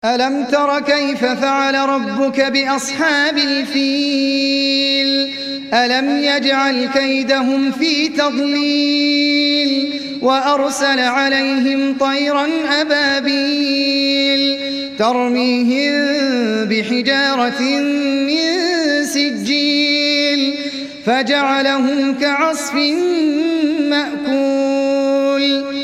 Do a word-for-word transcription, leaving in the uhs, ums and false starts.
ألم تر كيف فعل ربك بأصحاب الفيل ألم يجعل كيدهم في تضليل وأرسل عليهم طيرا أبابيل ترميهم بحجارة من سجيل فجعلهم كعصف مأكول